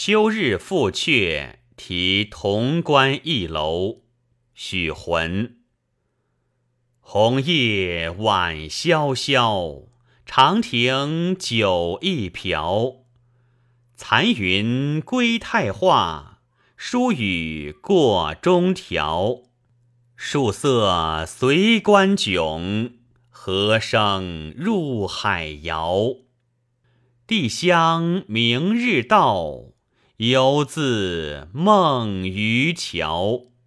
秋日复阙，题潼关一楼。许浑。红叶晚萧萧，长亭酒一瓢。残云归太化，疏雨过中条。树色随关迥，和声入海遥。帝乡明日到，犹自梦渔樵。